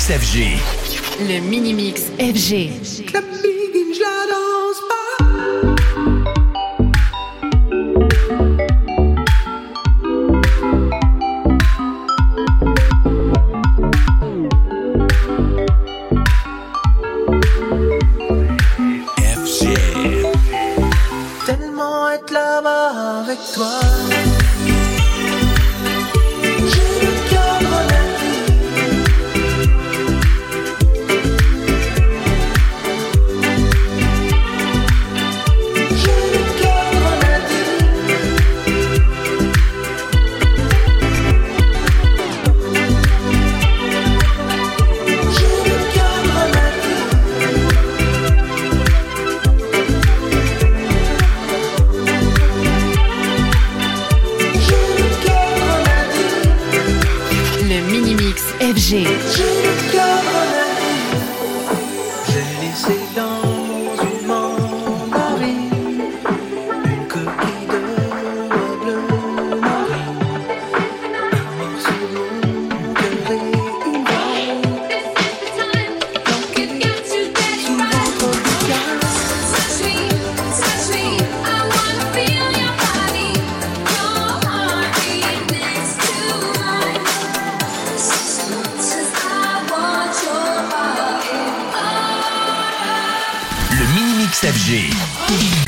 Mix FG. Le Mini-Mix FG. Club Big, je la danse pas. FG. Tellement être là-bas avec toi. FG. J'ai le cœur grenadine. J'ai laissé dans une mandarine une coquille de bleu marine, un morceau de mon cœur et une balle planquée sous l'encre du cœur. Le Mini-Mix FG.